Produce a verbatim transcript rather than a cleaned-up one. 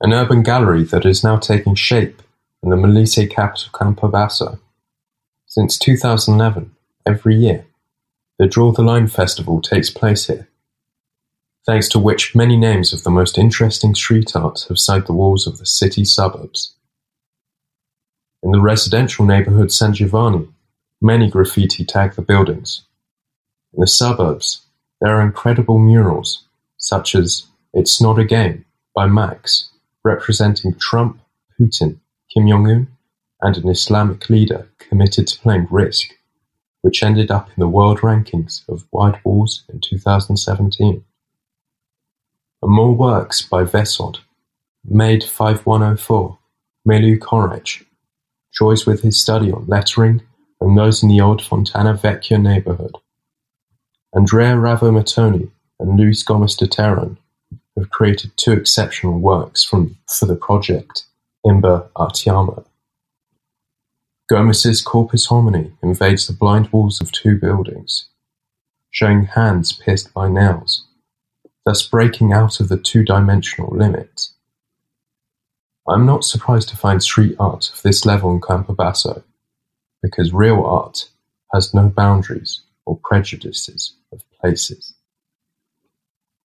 an urban gallery that is now taking shape in the Molise capital Campobasso. Since two thousand eleven, every year, the Draw the Line Festival takes place here, thanks to which many names of the most interesting street art have signed the walls of the city suburbs. In the residential neighborhood San Giovanni, many graffiti tag the buildings. In the suburbs, there are incredible murals, such as It's Not a Game by Max, representing Trump, Putin, Kim Jong-un, and an Islamic leader committed to playing Risk, which ended up in the world rankings of White Walls in two thousand seventeen. And more works by Vesod, Made five one oh four, Milu Korech, joys with his study on lettering and those in the old Fontana Vecchia neighborhood. Andrea Ravo-Mattoni and Luis Gomes de Terran have created two exceptional works from for the project Imber Artiamo. Gomez's Corpus Homini invades the blind walls of two buildings, showing hands pierced by nails, thus breaking out of the two-dimensional limit. I'm not surprised to find street art of this level in Campobasso, because real art has no boundaries or prejudices of places.